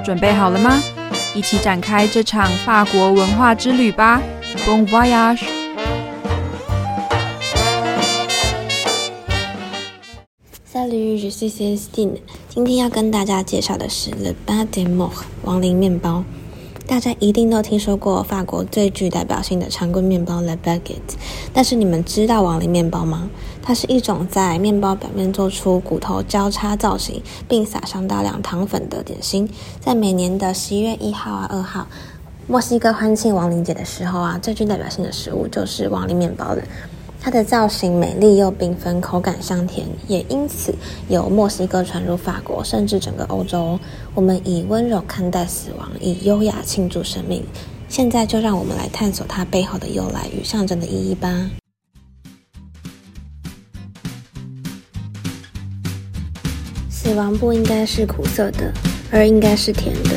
准备好了吗？一起展开这场法国文化之旅吧 Bon voyage! Salut, je suis Célestine. 今天要跟大家介绍的是 Le Pain des Morts 亡灵面包。大家一定都听说过法国最具代表性的长棍面包 Le Baguette， 但是你们知道亡灵面包吗？它是一种在面包表面做出骨头交叉造型，并撒上大量糖粉的点心。在每年的11月1号、2号，墨西哥欢庆亡灵节的时候最具代表性的食物就是亡灵面包了。它的造型美丽又缤纷，口感香甜，也因此由墨西哥传入法国，甚至整个欧洲。我们以温柔看待死亡，以优雅庆祝生命。现在就让我们来探索它背后的由来与象征的意义吧。死亡不应该是苦涩的，而应该是甜的。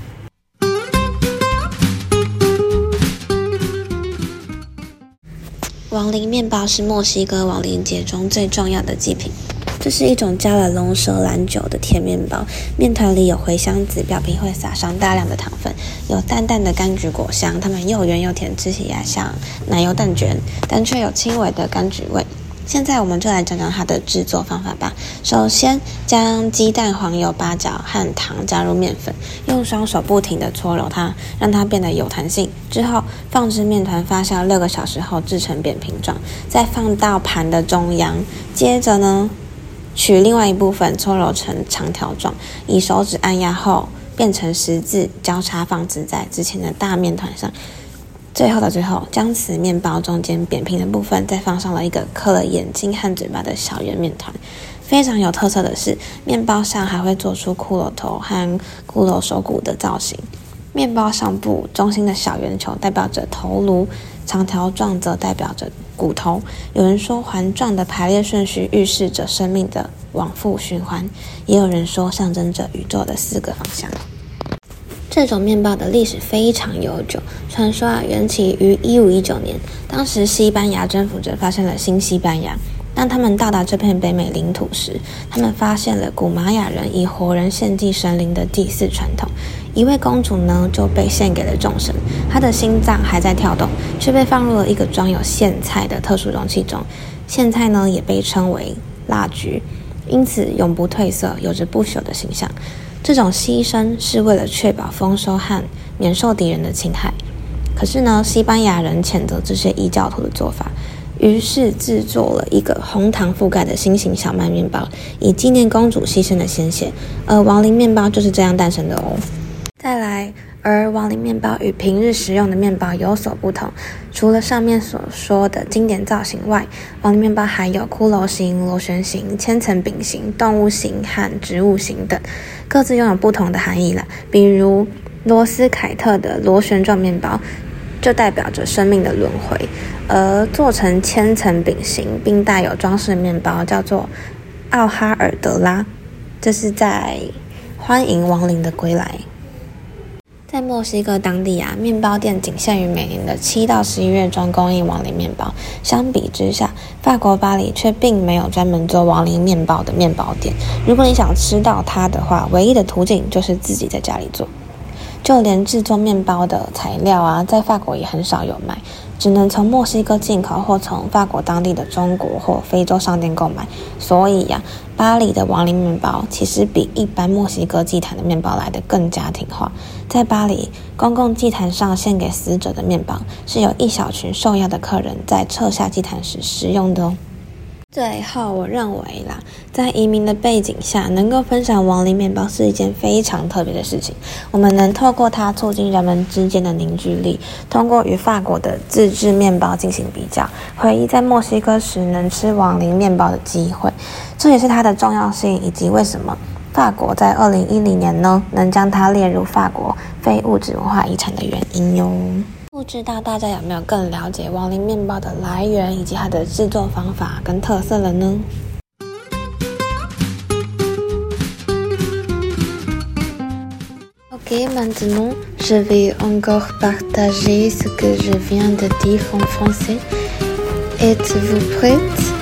亡灵面包是墨西哥亡灵节中最重要的祭品。这是一种加了龙舌兰酒的甜面包，面团里有茴香籽，表皮会撒上大量的糖分，有淡淡的柑橘果香，它们又圆又甜，吃起来像奶油蛋卷，但却有轻微的柑橘味。现在我们就来讲讲它的制作方法吧。首先将鸡蛋、黄油、八角和糖加入面粉，用双手不停地搓揉它，让它变得有弹性。之后放置面团发酵6个小时后制成扁平状，再放到盘的中央。接着呢，取另外一部分搓揉成长条状，以手指按压后变成十字，交叉放置在之前的大面团上。最后的最后，将此面包中间扁平的部分再放上了一个刻了眼睛和嘴巴的小圆面团。非常有特色的是，面包上还会做出骷髅头和骷髅手骨的造型。面包上部中心的小圆球代表着头颅，长条状则代表着骨头。有人说环状的排列顺序预示着生命的往复循环，也有人说象征着宇宙的4个方向。这种面包的历史非常悠久，传说缘起于1519年，当时西班牙征服者发现了新西班牙。当他们到达这片北美领土时，他们发现了古玛雅人以活人献祭神灵的祭祀传统。一位公主呢就被献给了众神，她的心脏还在跳动，却被放入了一个装有苋菜的特殊容器中。苋菜呢也被称为蜡菊，因此永不褪色，有着不朽的形象。这种牺牲是为了确保丰收和免受敌人的侵害。可是呢，西班牙人谴责这些异教徒的做法，于是制作了一个红糖覆盖的心形小麦面包，以纪念公主牺牲的鲜血。而亡灵面包就是这样诞生的哦。再来，而亡灵面包与平日食用的面包有所不同，除了上面所说的经典造型外，亡灵面包还有骷髅形、螺旋形、千层饼形、动物形和植物形等，各自拥有不同的含义啦。比如罗斯凯特的螺旋状面包就代表着生命的轮回，而做成千层饼形并带有装饰的面包叫做奥哈尔德拉，这是在欢迎亡灵的归来。在墨西哥当地面包店仅限于每年的7到11月中供应亡灵面包。相比之下，法国巴黎却并没有专门做亡灵面包的面包店。如果你想吃到它的话，唯一的途径就是自己在家里做。就连制作面包的材料在法国也很少有卖，只能从墨西哥进口或从法国当地的中国或非洲商店购买。所以巴黎的亡灵面包其实比一般墨西哥祭坛的面包来得更家庭化。在巴黎，公共祭坛上献给死者的面包是由一小群受邀的客人在撤下祭坛时食用的哦。最后，我认为在移民的背景下，能够分享亡灵面包是一件非常特别的事情。我们能透过它促进人们之间的凝聚力，通过与法国的自制面包进行比较，回忆在墨西哥时能吃亡灵面包的机会。这也是它的重要性，以及为什么法国在2010年呢能将它列入法国非物质文化遗产的原因哟。不知道大家有没有更了解亡灵面包的来源以及它的制作方法跟特色了呢？Ok, maintenant, je vais encore partager ce que je viens de dire en français. Êtes-vous prête?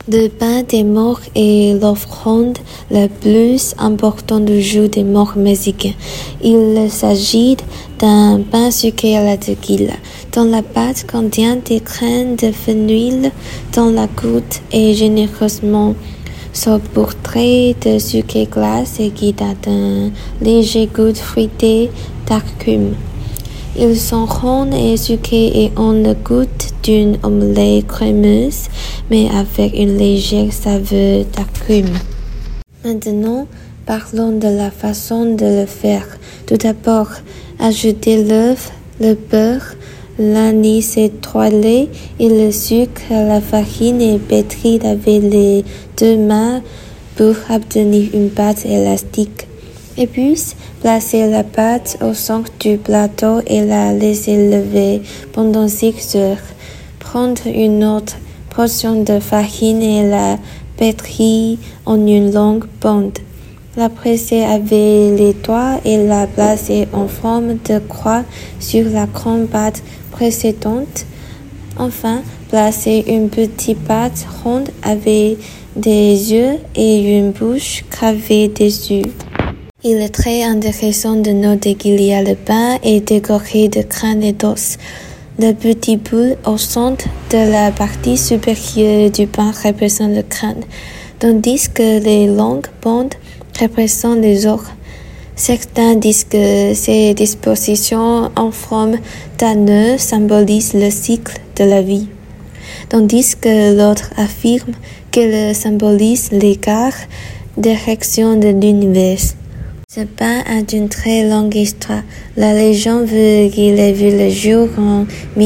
Le pain des morts est l'offrande la plus importante du jour des morts mexicains. Il s'agit d'un pain sucré à la tequila, dont la pâte contient des graines de fenouil, dont la croûte est généreusement saupoudrée de sucre glace et qui a un léger goût fruité d'amertume. Ils sont ronds et sucrés et ont le goût d'une omelette crémeuse, mais avec une légère saveur d'amertume. Maintenant, parlons de la façon de le faire. Tout d'abord, ajoutez l'œuf, le beurre, l'anis étoilé et le sucre à la farine et pétrir avec les deux mains pour obtenir une pâte élastique. Et puis, placez la pâte au centre du plateau et la laissez lever pendant 6 heures. Prendre une autre portion de farine et la pétrir en une longue bande. La presser avec les doigts et la placer en forme de croix sur la grande pâte précédente. Enfin, placez une petite pâte ronde avec des yeux et une bouche gravée dessus. Il est très intéressant de noter qu'il y a le pain est décoré de graines et d'os. Le petit boule au centre de la partie supérieure du pain représente le crâne, tandis que les longues bandes représentent les os. Certains disent que ces dispositions en forme d'anneau symbolisent le cycle de la vie, tandis que l'autre affirme qu'elles symbolisent l'écart direction de l'univers. Ce pain a une très longue histoire. La légende veut qu'il ait vu le jour en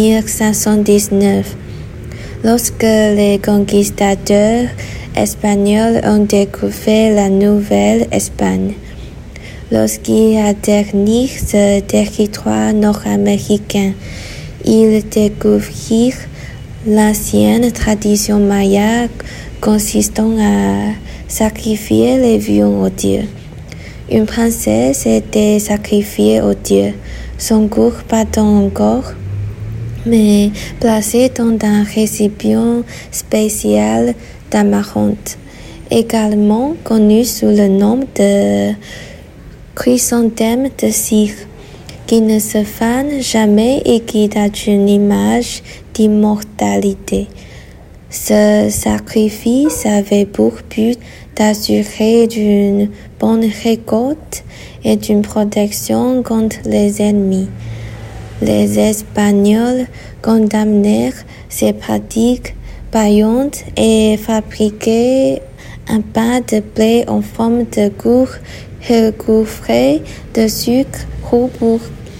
1519, lorsque les conquistadors espagnols ont découvert la Nouvelle-Espagne. Lorsqu'ils atteignirent ce territoire nord-américain, ils découvrirent l'ancienne tradition maya consistant à sacrifier les viandes aux dieux. Une princesse était sacrifiée aux dieux, son corps battant encore, mais placé dans un récipient spécial d'amarante, également connu sous le nom de chrysanthème de cire, qui ne se fane jamais et qui a une image d'immortalité. Ce sacrifice avait pour but d'assurer une bonne récolte et une protection contre les ennemis. Les Espagnols condamnèrent ces pratiques païennes et fabriquaient un pain de blé en forme de gourde recouvré de sucre roux pour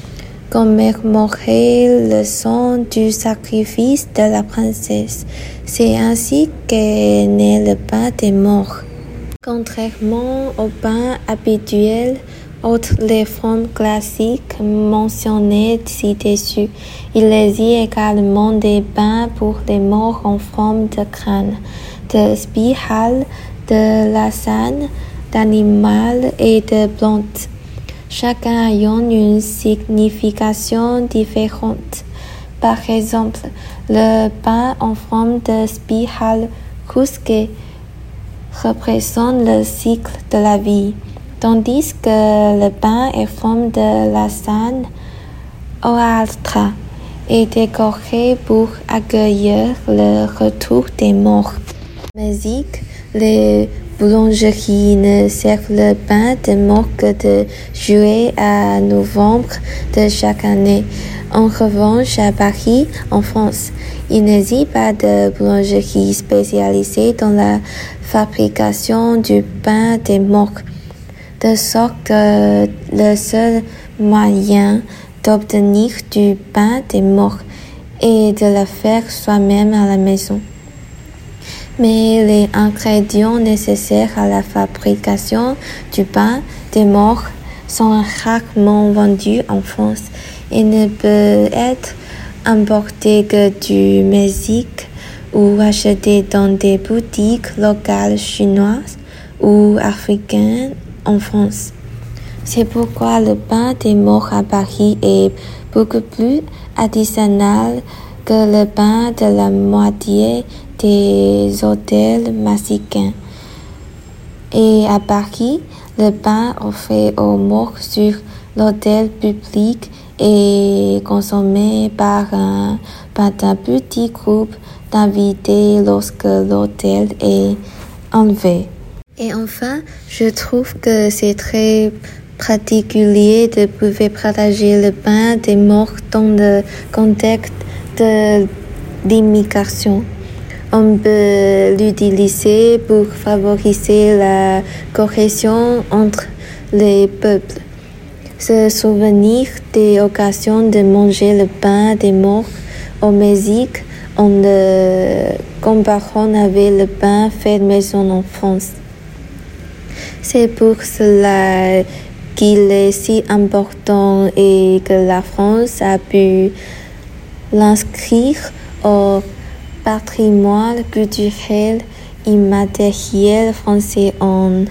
commémorer le sang du sacrifice de la princesse. C'est ainsi qu'est né le pain des morts. Contrairement au pain habituel, outre les formes classiques mentionnées ci-dessus, il existe également des pains pour les morts en forme de crâne, de spirale, de lasagne, d'animal et de plantes, chacun ayant une signification différente. Par exemple, le pain en forme de spirale crusquée représente le cycle de la vie, tandis que le pain en forme de lasagne hojaldra est décoré pour accueillir le retour des morts. Au Mexique, les boulangeries ne servent le pain de mort que de juillet à novembre de chaque année. En revanche, à Paris, en France, il n'existe pas de boulangerie spécialisée dans la fabrication du pain des morts, de sorte que le seul moyen d'obtenir du pain des morts est de le faire soi-même à la maison. Mais les ingrédients nécessaires à la fabrication du pain des morts sont rarement vendus en France et ne peut être importé que du Mexique ou acheté dans des boutiques locales chinoises ou africaines en France. C'est pourquoi le pain des morts à Paris est beaucoup plus artisanal que le pain de la moitié des hôtels mexicains. Et à Paris, le pain offert aux morts sur l'hôtel public est consommé par un petit groupe d'invités lorsque l'hôtel est enlevé. Et enfin, je trouve que c'est très particulier de pouvoir partager le pain des morts dans le contexte de l'immigration. On peut l'utiliser pour favoriser la cohésion entre les peuples. Se souvenir des occasions de manger le pain des morts au Mexique en le comparant avec le pain fait maison en France. C'est pour cela qu'il est si important et que la France a pu l'inscrire au patrimoine culturel immatériel français en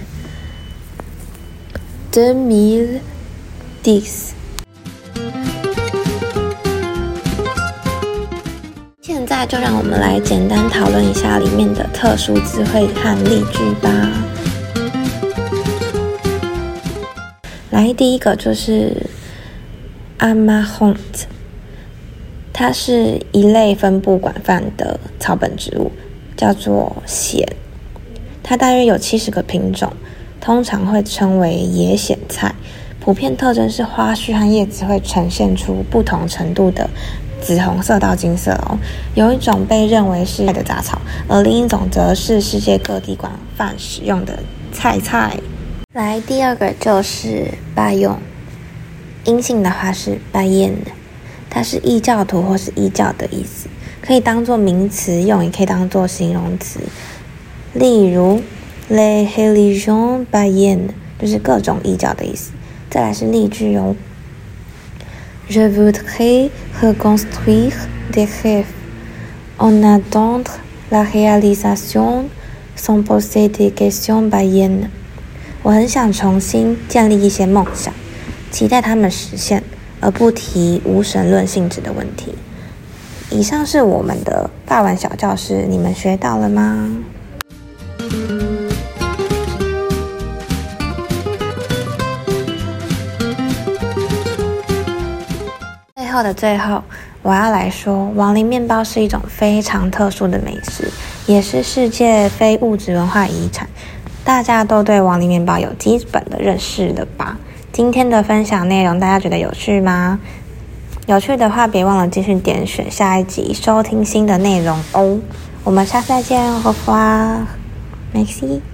2010。现在就让我们来简单讨论一下里面的特殊词汇和例句吧。来，第一个就是 Amarante， 它是一类分布广泛的草本植物，叫做藓。它大约有70个品种，通常会称为野藓菜。普遍特征是花序和叶子会呈现出不同程度的紫红色到金色哦。有一种被认为是的杂草，而另一种则是世界各地广泛使用的菜。来，第二个就是拜用，阴性的话是拜宴，它是异教徒或是异教的意思，可以当作名词用，也可以当作形容词。例如 les religions païennes 就是各种异教的意思。再来是例句哦。Je voudrais reconstruire des rêves en attendre la réalisation sans poser des questions païennes。我很想重新建立一些梦想，期待它们实现，而不提无神论性质的问题。以上是我们的法文小教室，你们学到了吗？最后，我要来说，亡灵面包是一种非常特殊的美食，也是世界非物质文化遗产。大家都对亡灵面包有基本的认识了吧？今天的分享内容大家觉得有趣吗？有趣的话，别忘了继续点选下一集收听新的内容哦。我们下次再见，au revoir，merci。